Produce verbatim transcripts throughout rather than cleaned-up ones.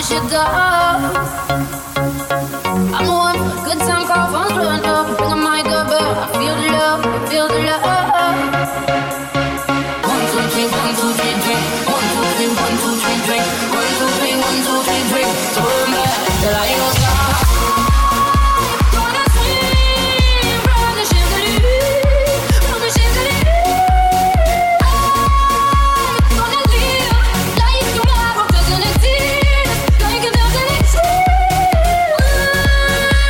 should go. I'm on a good time call, phone's blowing up. Bring a mic up, but I feel the love, I feel the love. One, two, three, one, two, three, drink. One, two, three, one, two, three, drink. One, two, three, one, two, three, drink. Turn back till I ain't gonna stop. Gonna swim from the chandelier, from the chandelier. I'm gonna live like tomorrow doesn't exist, like it doesn't exist.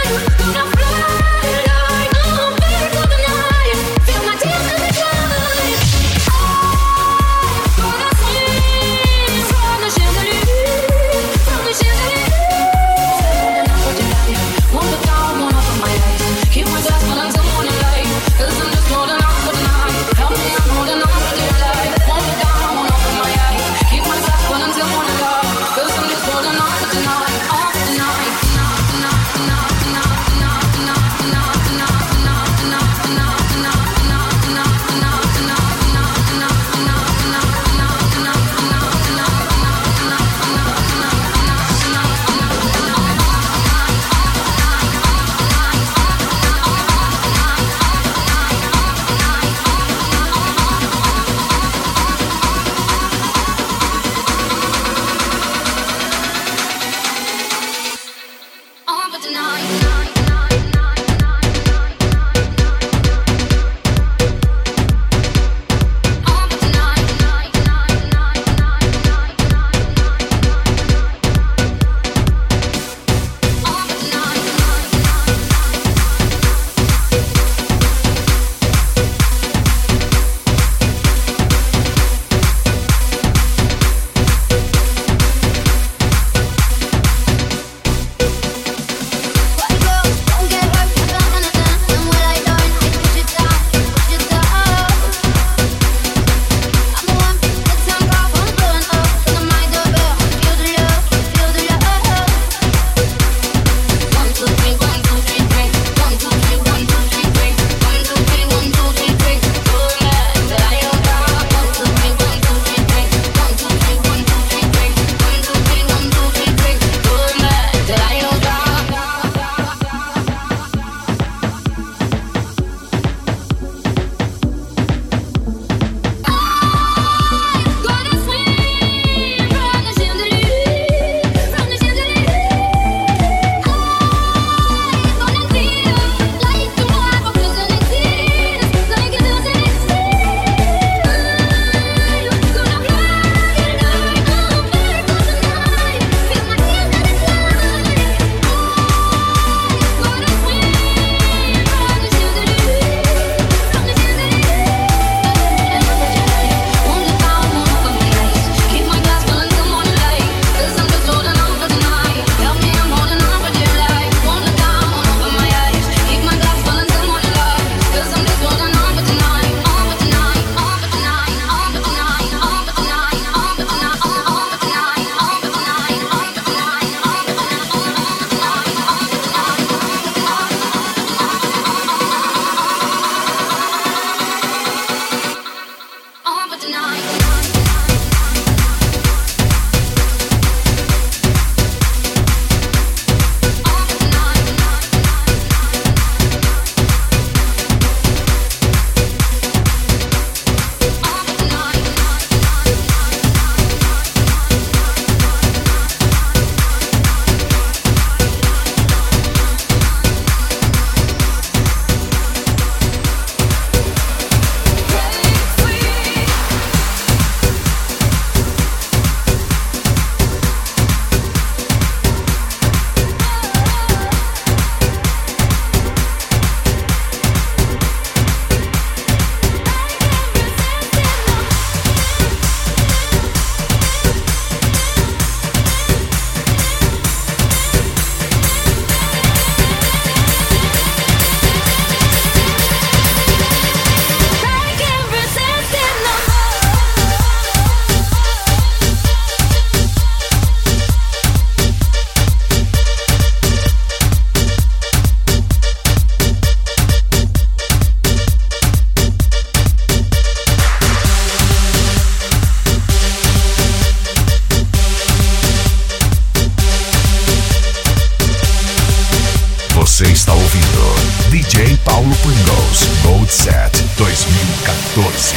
Você está ouvindo D J Paulo Pringles Gold Set dois mil e quatorze.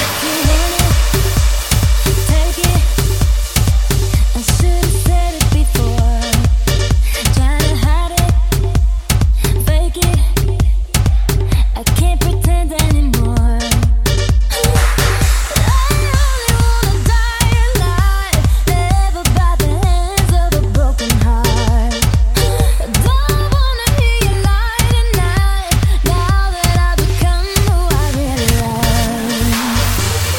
Now that I've become who I really love.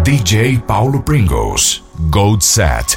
D J Paulo Pringles, Gold Set.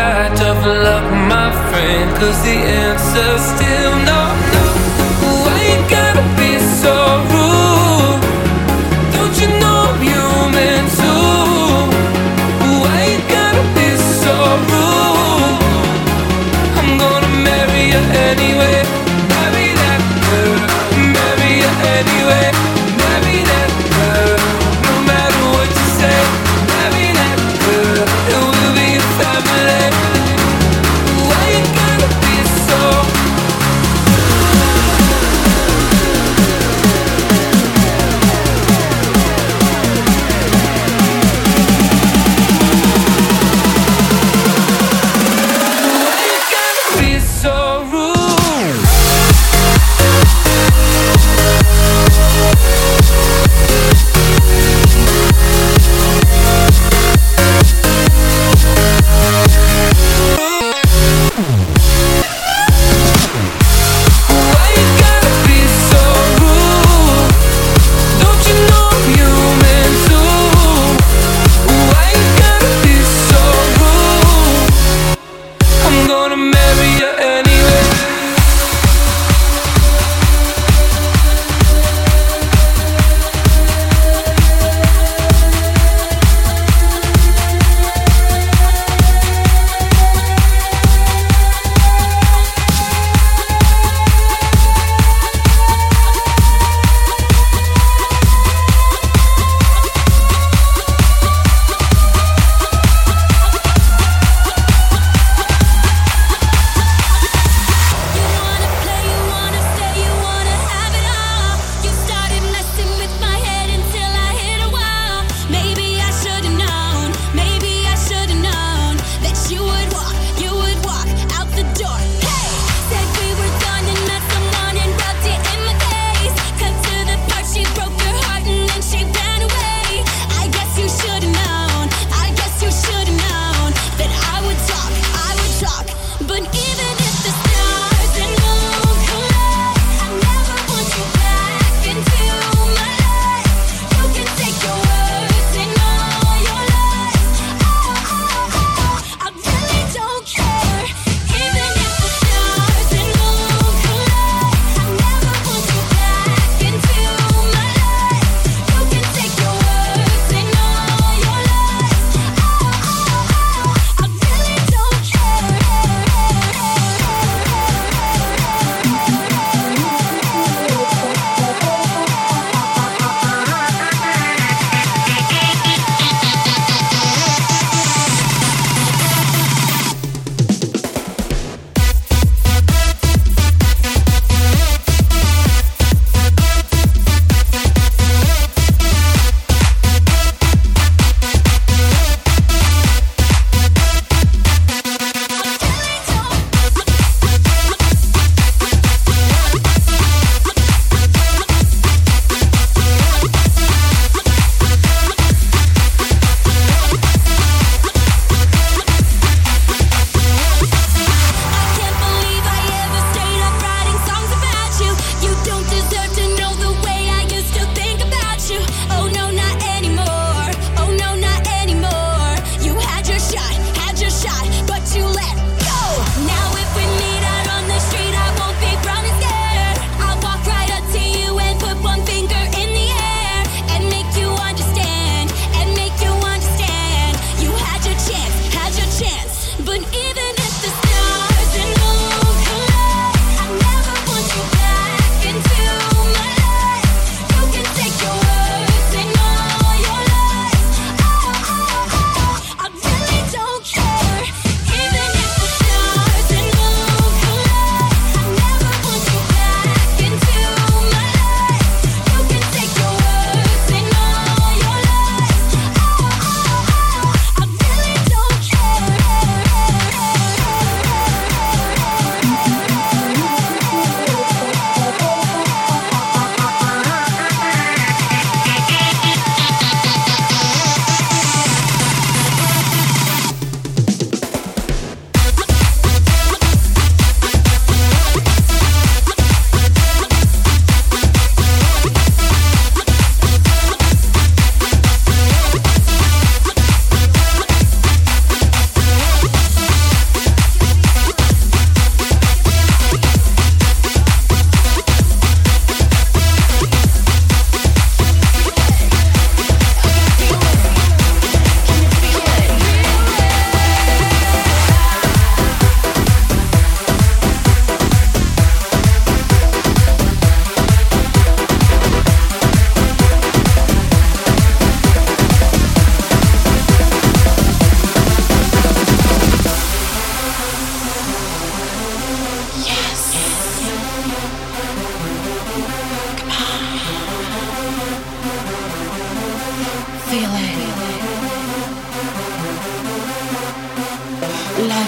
Cause the answer's still no, no. Why you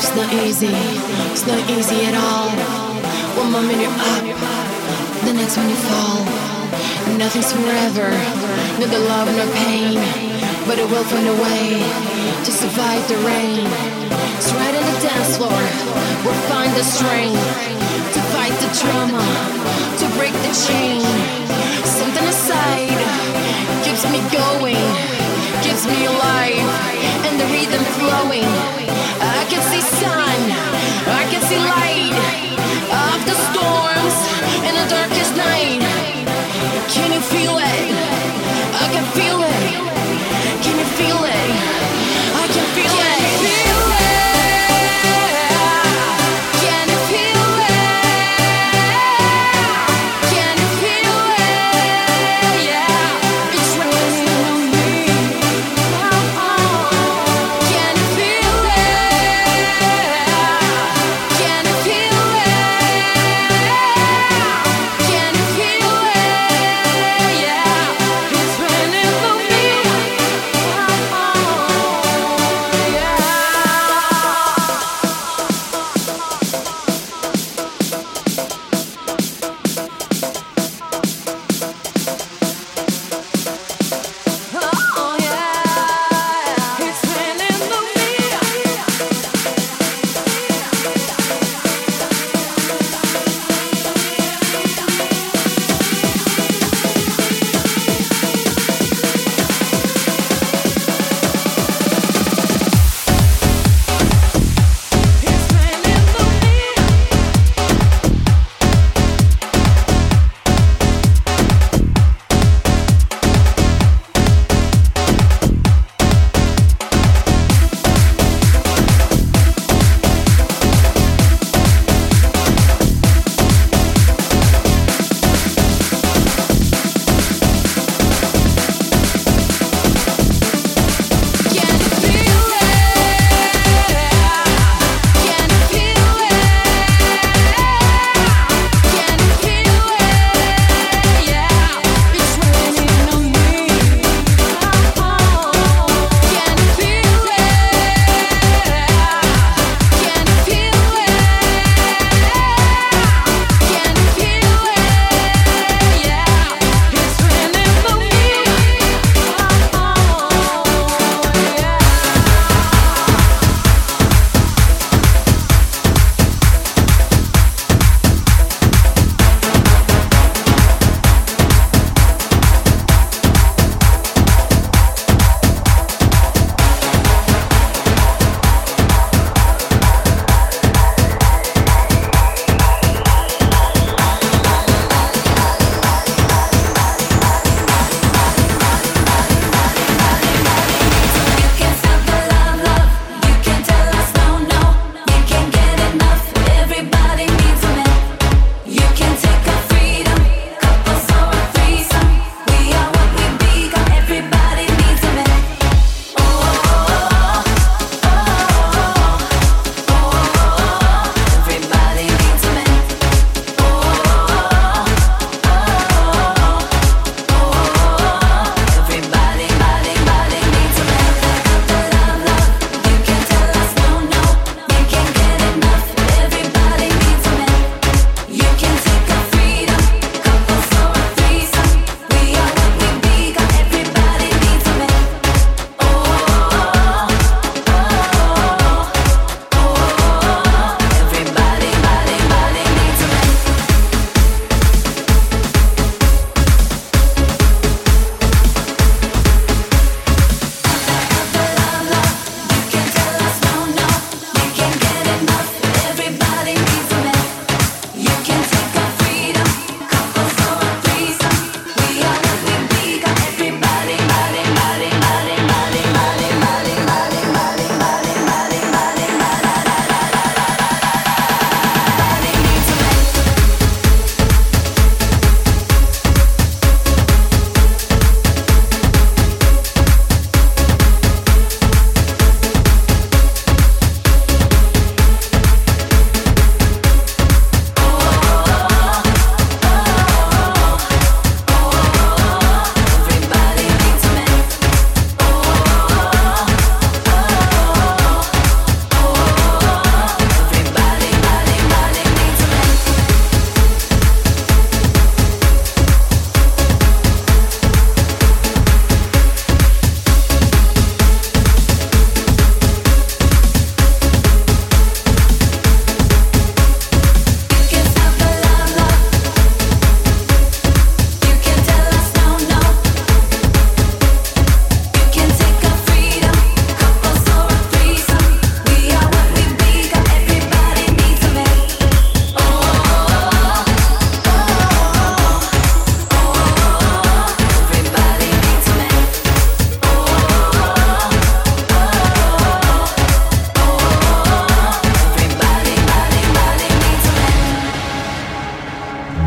It's not easy, it's not easy at all. One moment you're up, the next one you fall. Nothing's forever, neither love nor pain, but it will find a way to survive the rain. So right on the dance floor, we'll find the strength to fight the drama, to break the chain. Something aside keeps me going, keeps me alive, and the rhythm flowing. I can see sun, I can see light of the storms in the darkest night. Can you feel it? I can feel it. Can you feel it? I can feel it. Can you feel it? Can you feel it? Yeah, it's raining on me. Can you feel it?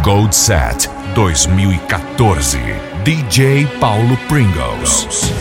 Gold Set dois mil e quatorze. D J Paulo Pringles.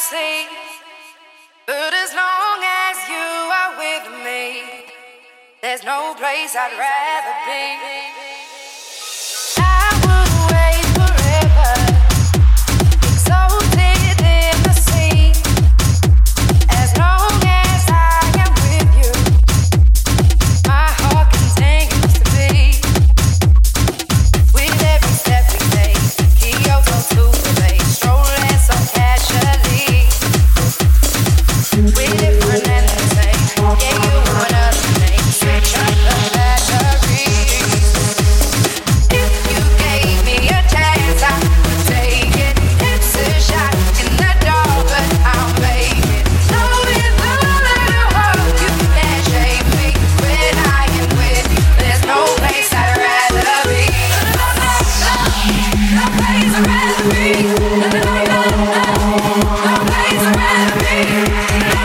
see. But as long as you are with me, there's no place I'd rather be. I would wait forever, exalted in the sea. As long as I am with you, my heart continues to beat. With every step we take, Kyoto to the bay, strolling so casually. We're different and the same. Yeah, you want us to make switch up the batteries. If you gave me a chance, I would take it. It's a shot in the dark, but I'll make it. Knowing the little hope you can shake me when I am with you. There's no place I'd rather be. No place I'd rather be. No place I'd rather be.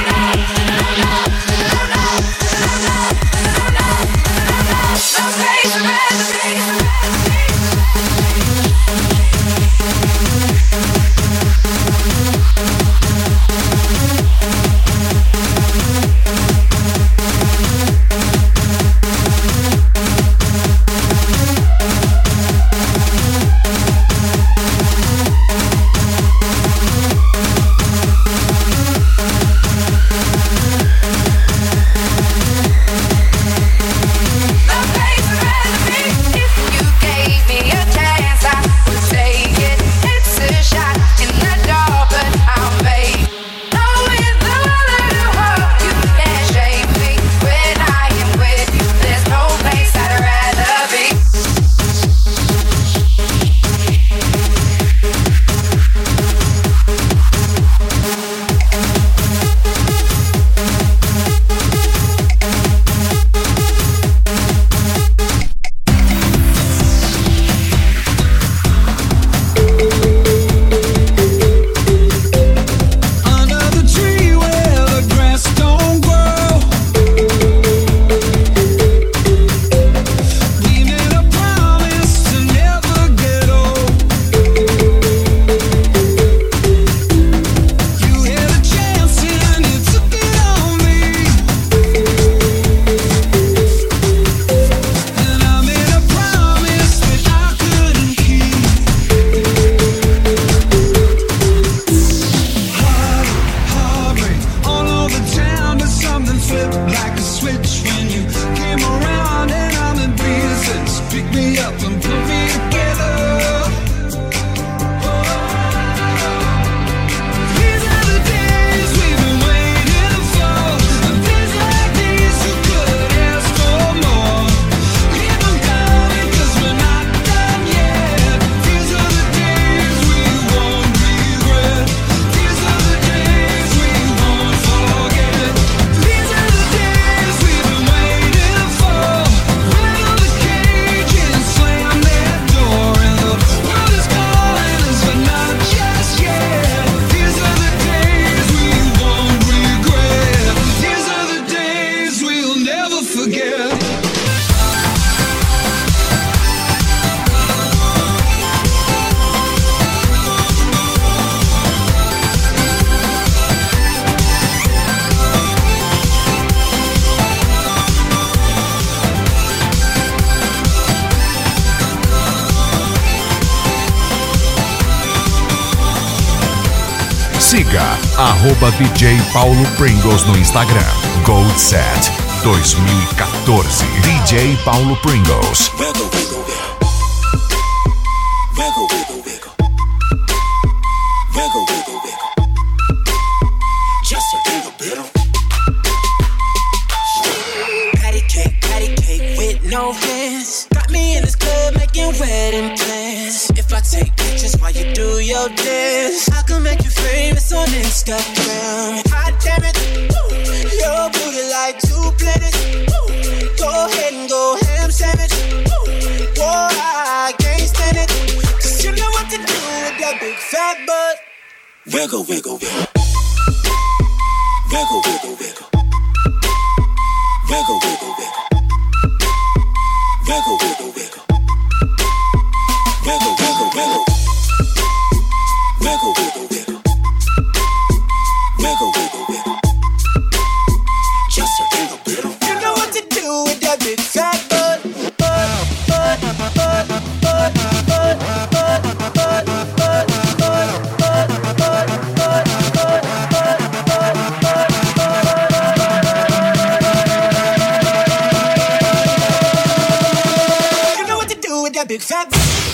Siga arroba D J Paulo Pringles no Instagram. Gold Set dois mil e quatorze. D J Paulo Pringles. Wiggle, wiggle, wiggle. Wiggle, wiggle, wiggle. Wiggle, wiggle, wiggle. Just a little bit of patty cake, patty cake with no hands. Got me in this club making wedding plans. If I take pictures while you do your dance, I can make you famous on Instagram. Hot damn it, woo. Your booty like two planets. Woo. Go ahead and go ham sandwich. Woo. Boy, I can't stand it, 'cause you know what to do with that big fat butt. Wiggle, wiggle, wiggle. Wiggle, wiggle, wiggle. Wiggle, wiggle, wiggle. Wiggle, wiggle, wiggle. Wiggle, wiggle, wiggle. Wiggle, wiggle, wiggle. a big fat.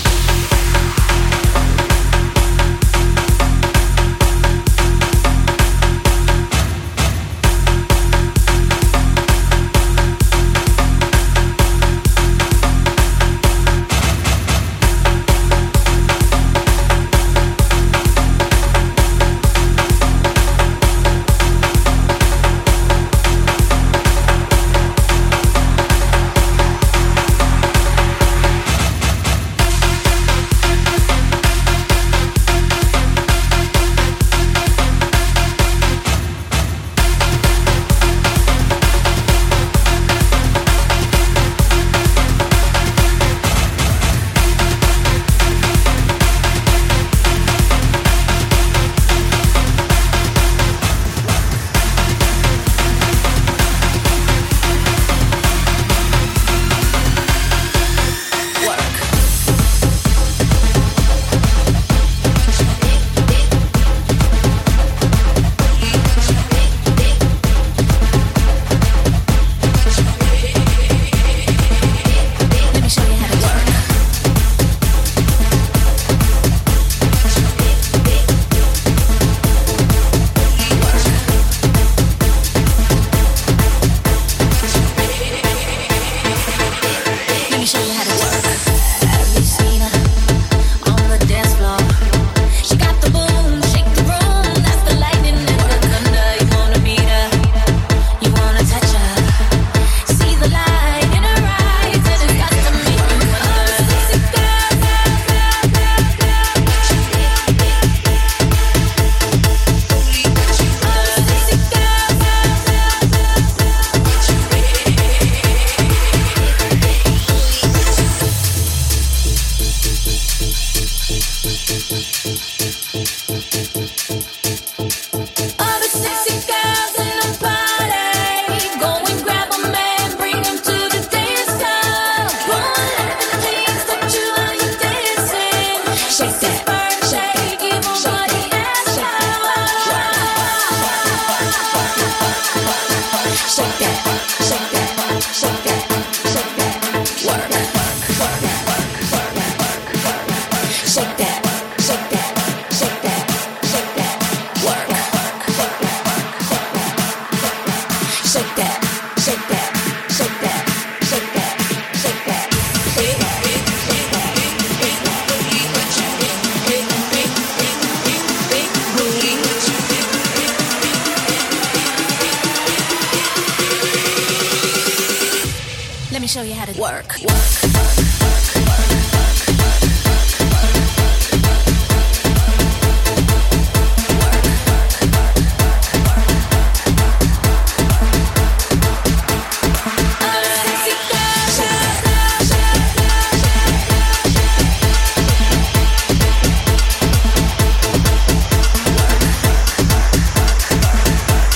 Show you how to work.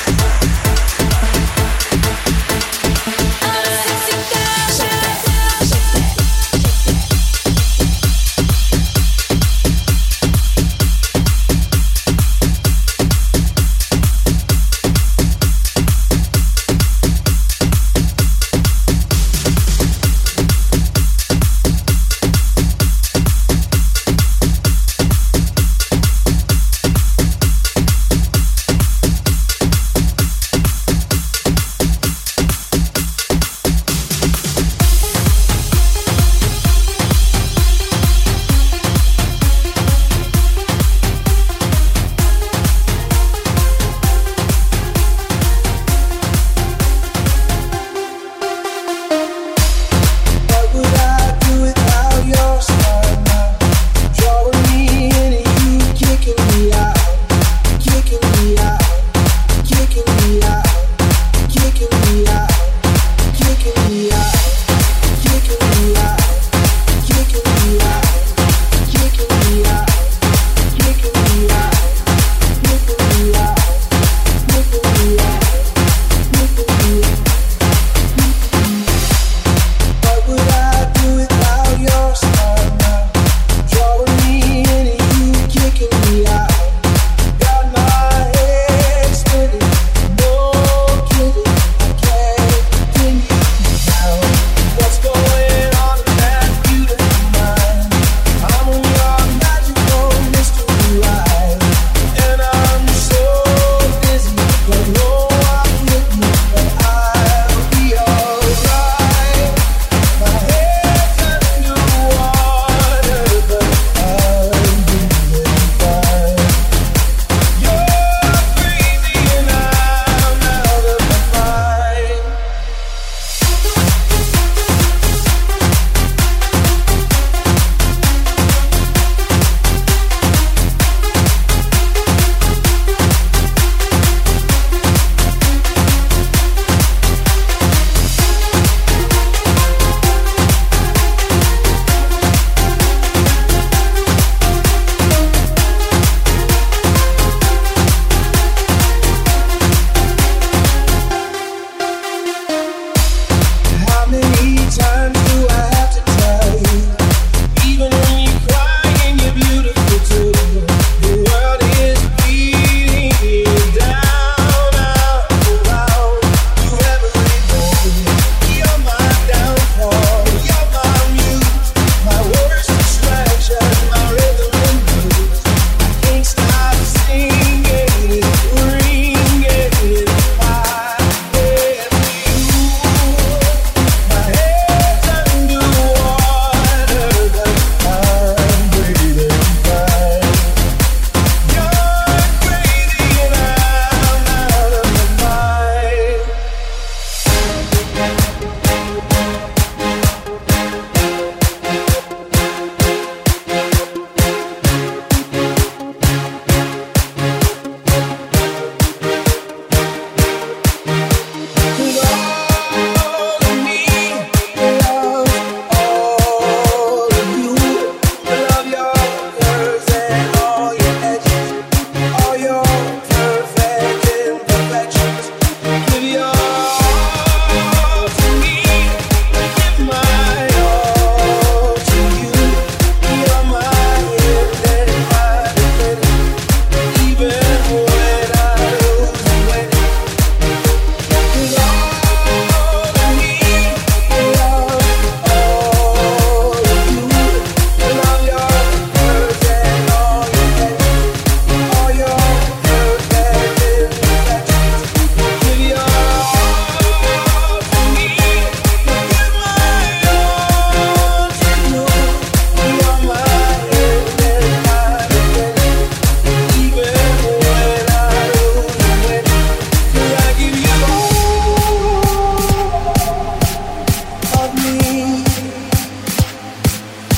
Shake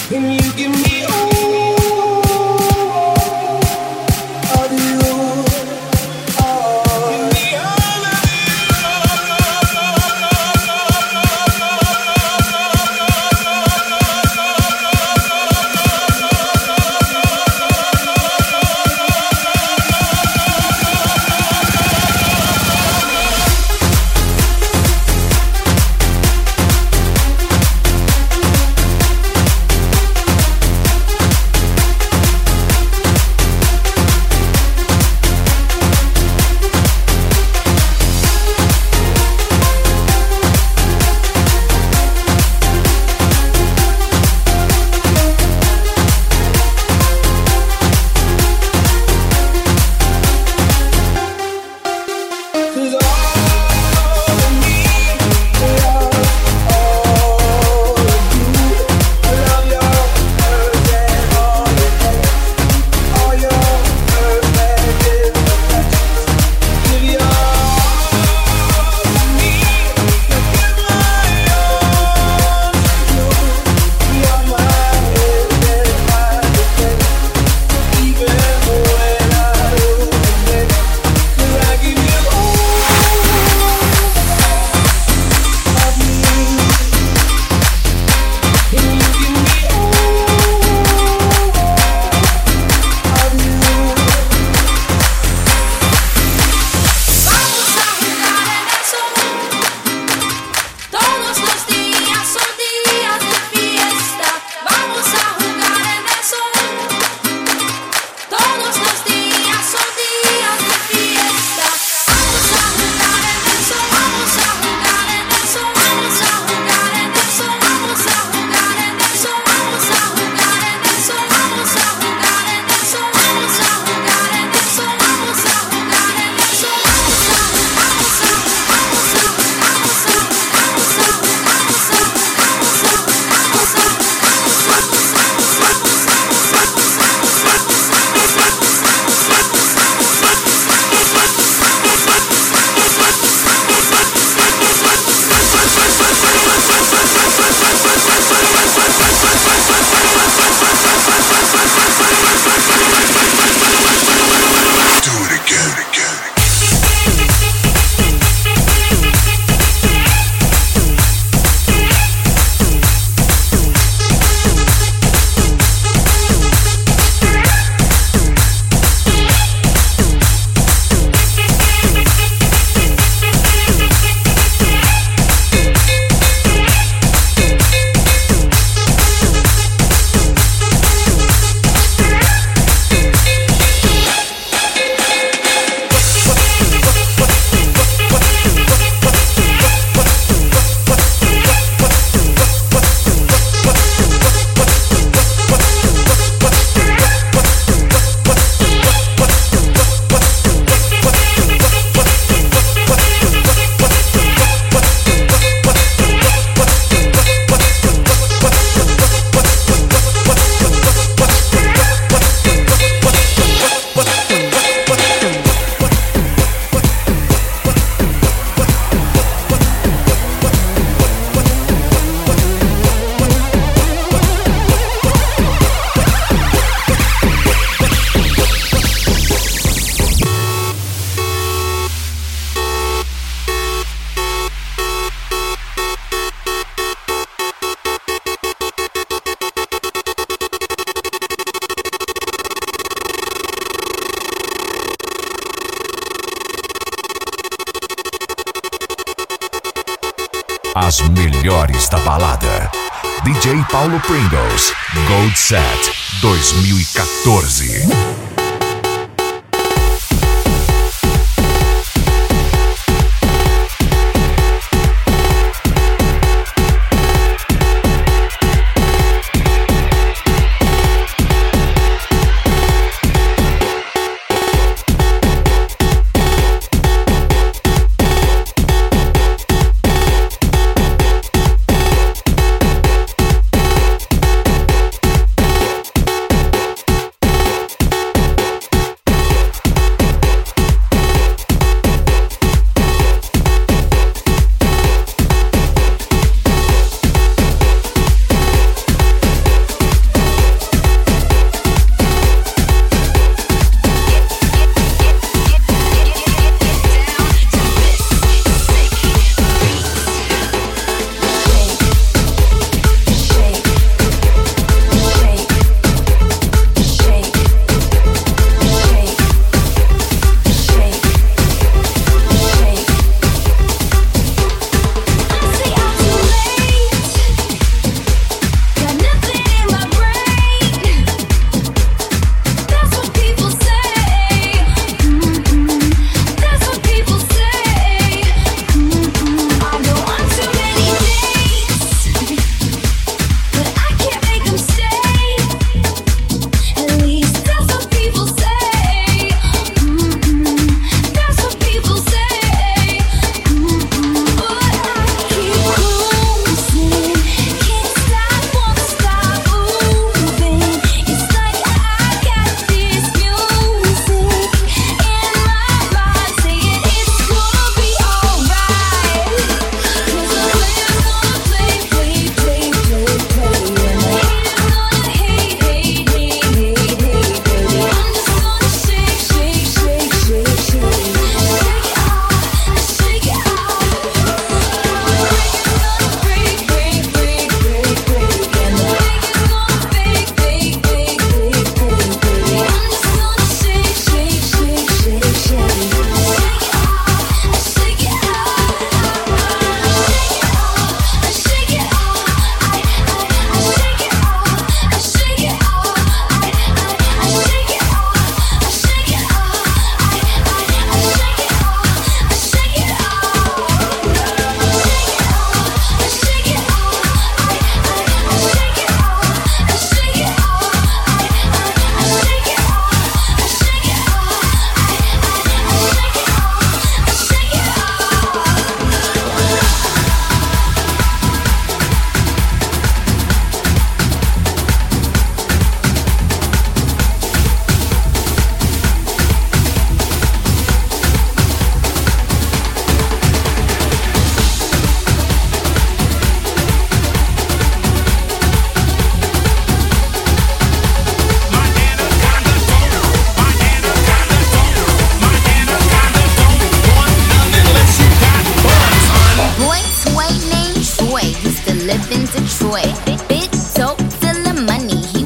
As melhores da balada. D J Paulo Pringles, Gold Set dois mil e quatorze.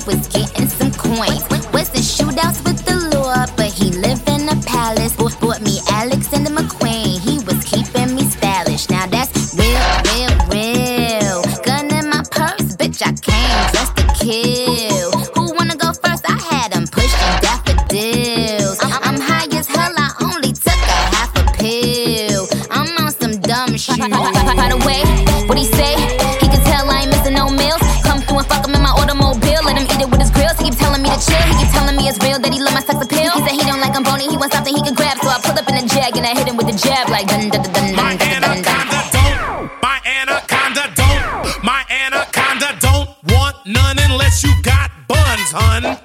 was getting some coins. Was the shootouts with the law, but he lived in a palace. Bought me Alexander McQueen, he was keeping me stylish. Now that's real, real, real. Gun in my purse, bitch, I came just to kill. Who wanna go first? I had him pushing daffodils. I'm, I'm high as hell, I only took a half a pill. I'm on some dumb shit. By the way, what he say? He can tell I ain't missing no meals. Come through and fuck him in my automobile. Let him eat it with his grills. He keep telling me to chill. He keep telling me it's real that he love my sex appeal. He said he don't like I'm bony, he wants something he can grab. So I pull up in a jag and I hit him with a jab like dun dun dun dun dun dun dun dun. My anaconda don't, my anaconda don't want none unless you got buns, hun.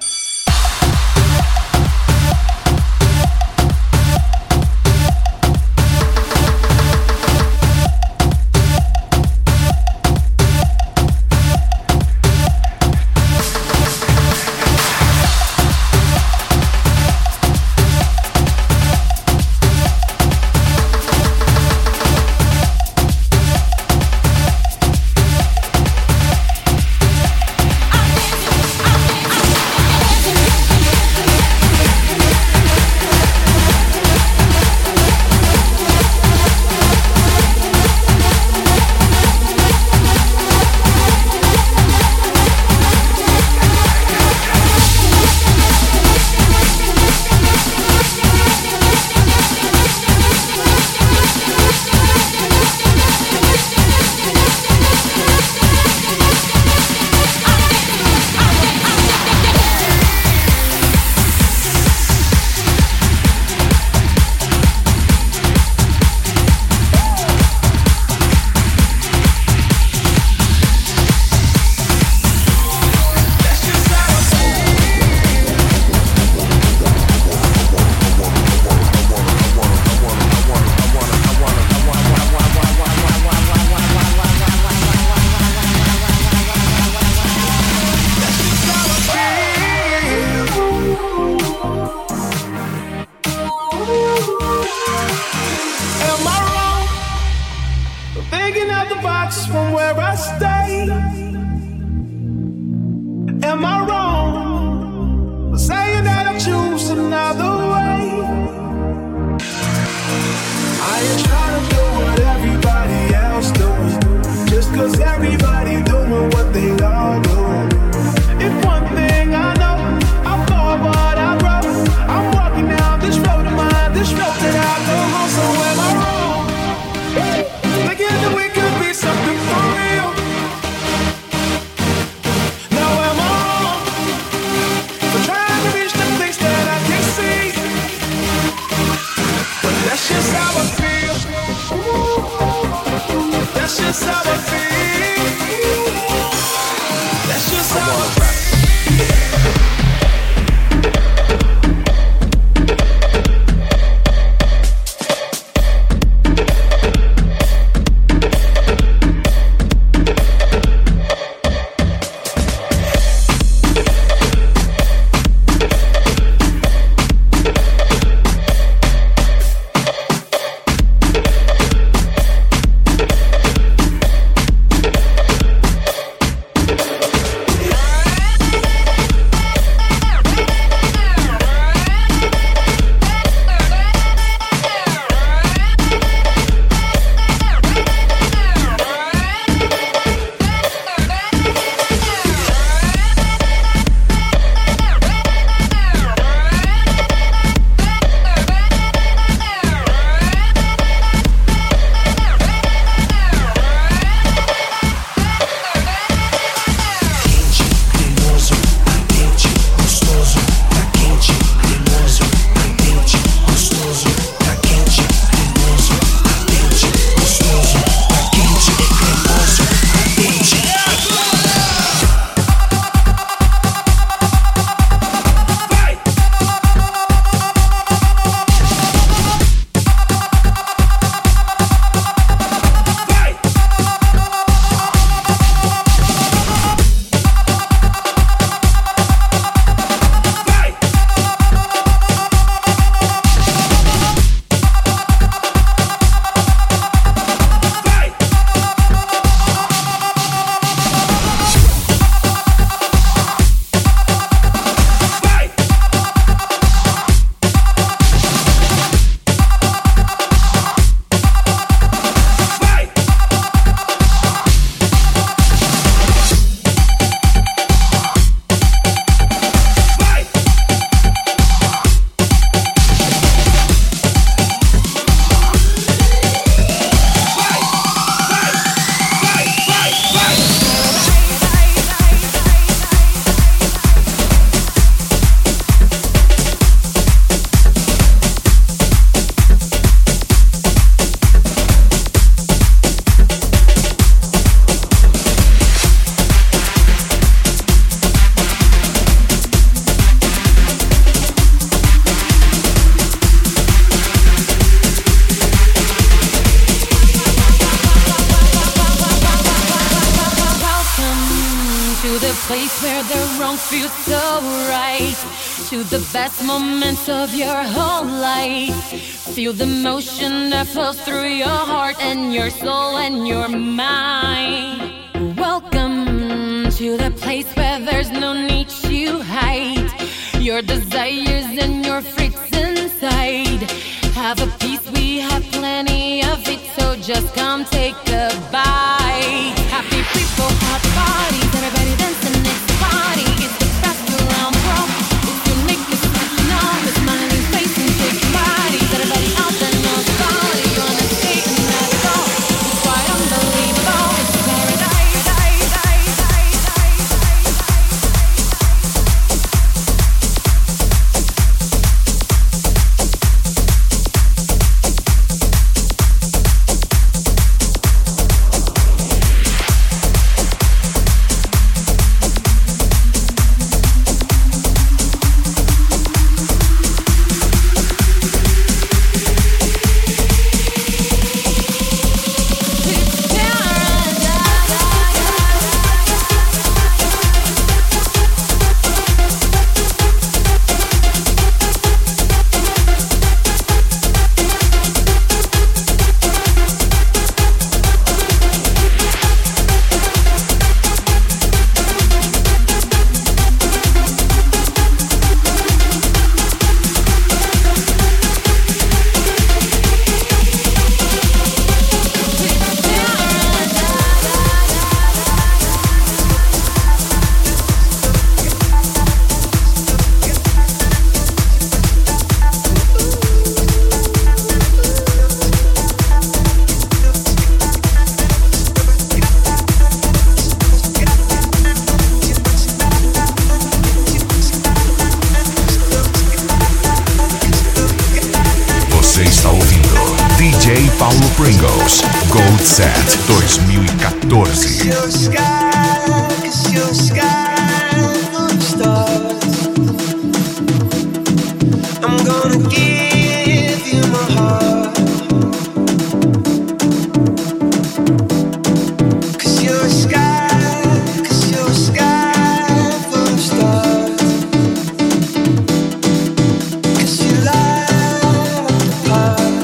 the wrong feels so right. To the best moments of your whole life. Feel the motion that flows through your heart and your soul and your mind. Welcome to the place where there's no need to hide your desires and your freaks inside. Have a piece, we have plenty of it, so just come take a bite. Happy people, hot parties, everybody dancing next to party. It's the best around, bro. If you make me smashing on the smiling face and shake bodies, everybody out there knows about it. You're on the stage and let it go. It's quite unbelievable. It's paradise. Paulo Pringles, Gold Set dois mil e quatorze. I'm gonna give you my heart, 'cause you're a sky, 'cause you're a sky full of stars, 'cause you light up the path.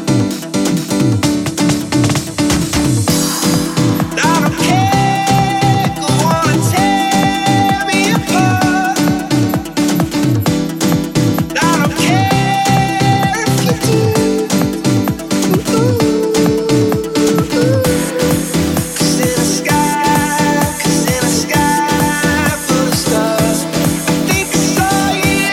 I don't care, go on and tear me apart. I don't care if you do. Cause in a sky, cause in a sky full of stars, I think I saw you.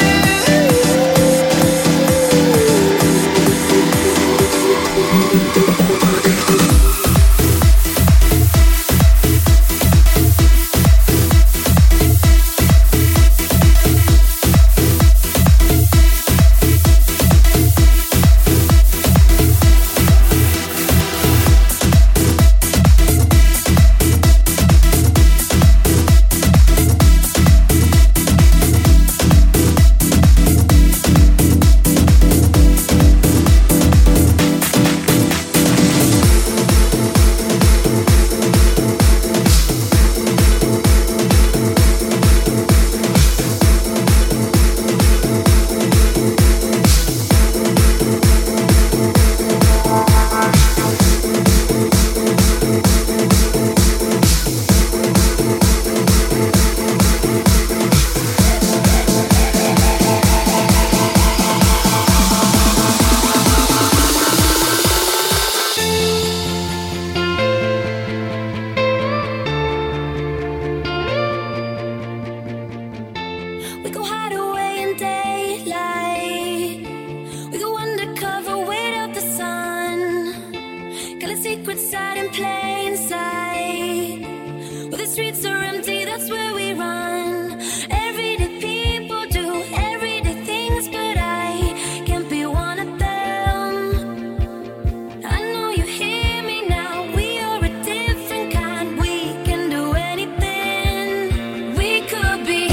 We go hide away in daylight. We go undercover, wait out the sun. Got a secret side in plain sight. Where the streets are empty, that's where we run. Everyday people do everyday things, but I can't be one of them. I know you hear me now. We are a different kind. We can do anything. We could be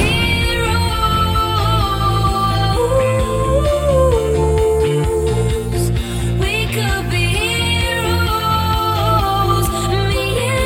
heroes. We could be heroes. Me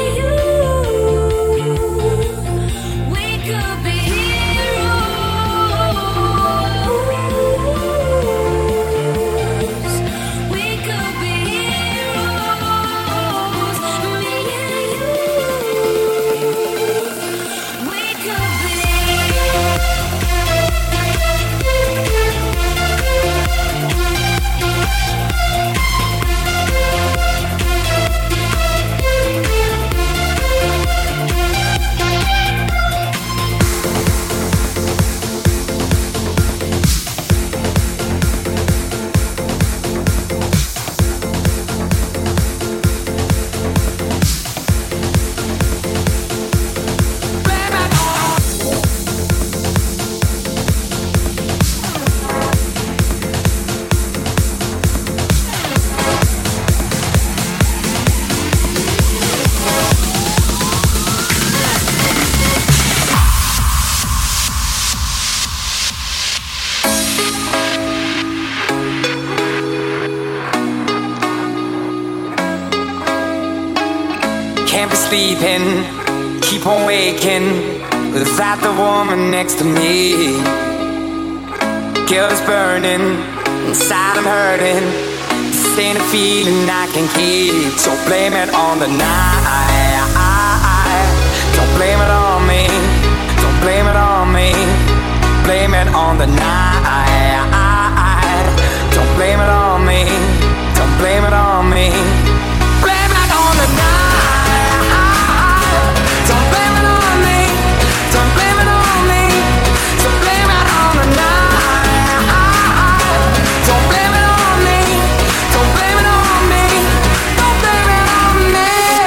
sleeping, keep on waking without the woman next to me. Guilt is burning, inside I'm hurting. This ain't a feeling I can keep, so blame it on the night. Don't blame it on me, don't blame it on me. Blame it on the night. Don't blame it on me, don't blame it on me. Blame it on the night. Don't blame it on me, don't blame it on me. So blame it on the night. Don't blame it on me, don't blame it on me. Don't blame it on me.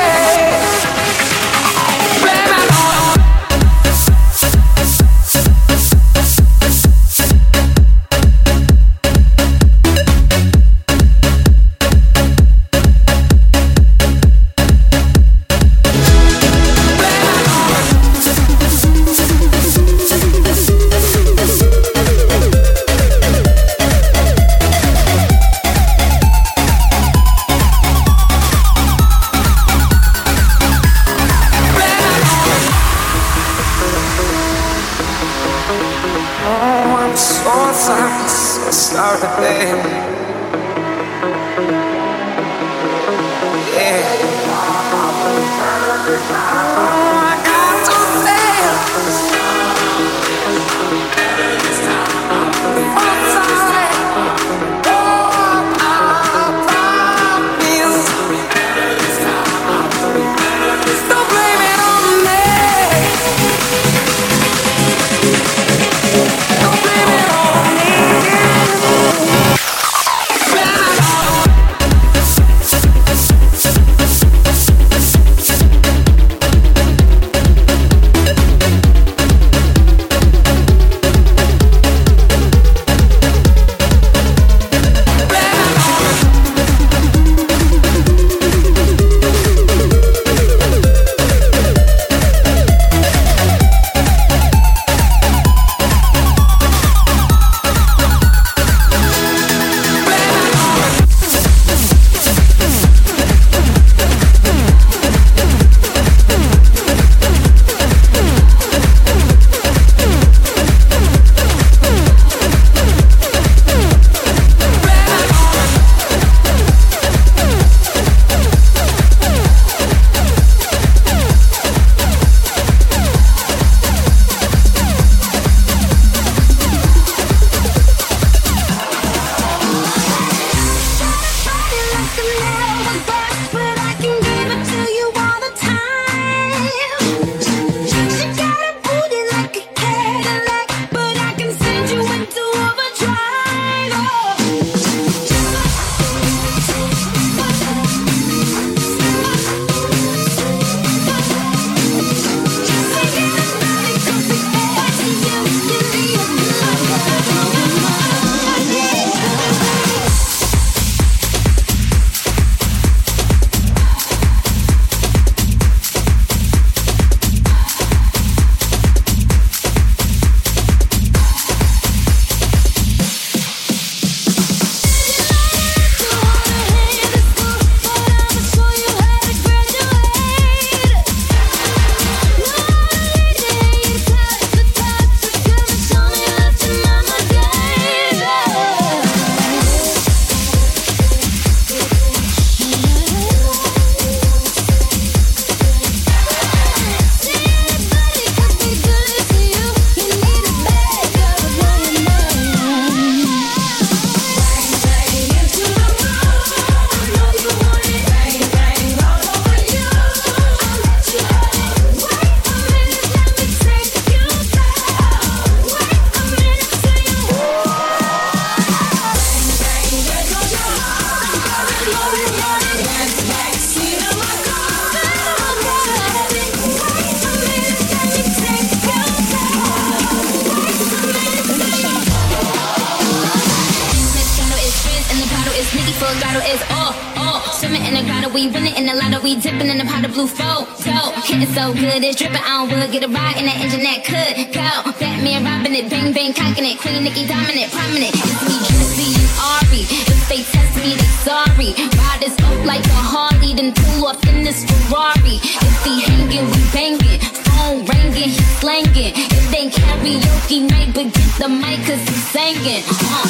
Blame it on. we winning in the lotto, we dipping in the pot of blue photo. Hitting so good, it's dripping, I don't would get a ride in that engine that could go. Batman robbing it, bang bang cocking it, Queen Nicki dominant, prominent. It's me, Juicy and Ari. If they test me, they sorry. Ride this up like a Harley, then then pull off in this Ferrari. If he hanging, we banging. Phone ringing, he slanging. It ain't karaoke night, but get the mic 'cause he's singing. Uh.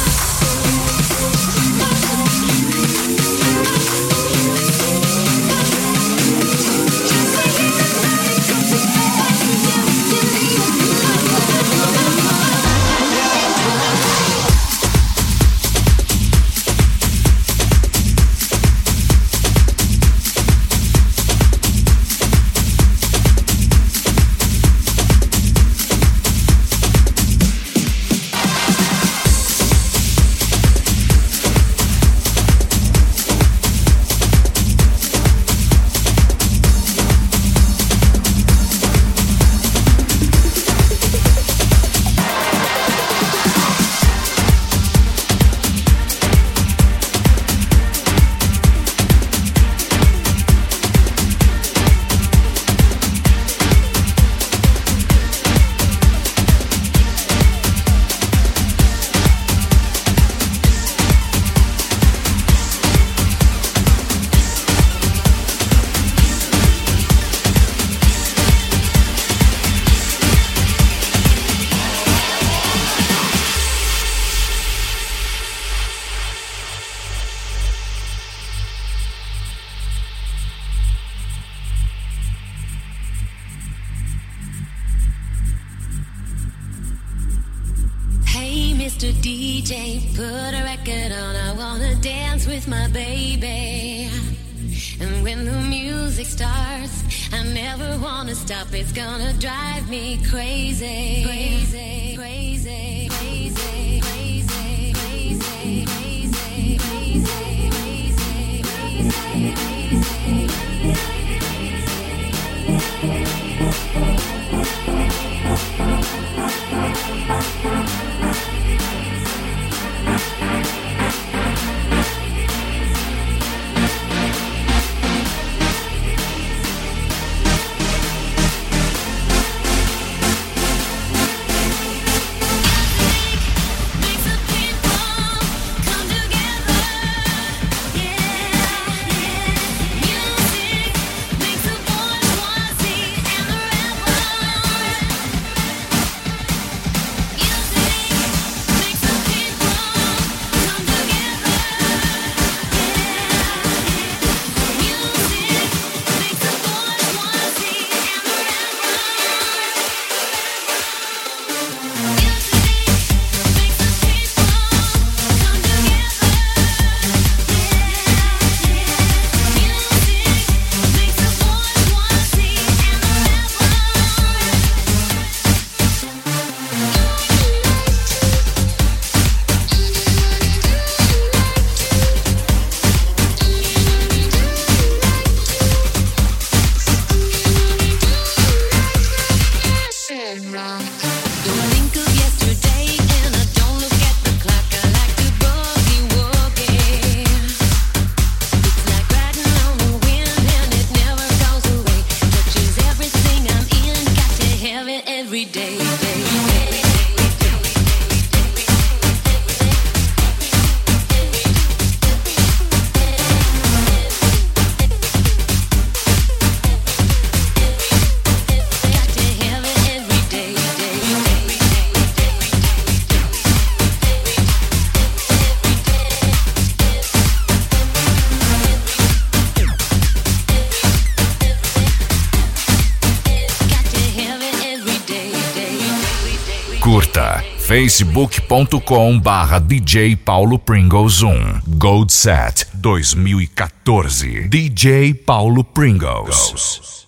Mister D J, put a record on. I wanna dance with my baby. And when the music starts, I never wanna stop. It's gonna drive me crazy. Crazy, crazy, crazy, crazy, crazy, crazy, crazy, crazy, Curta facebook ponto com barra D J Paulo Pringles um. Gold Set dois mil e quatorze. D J Paulo Pringles.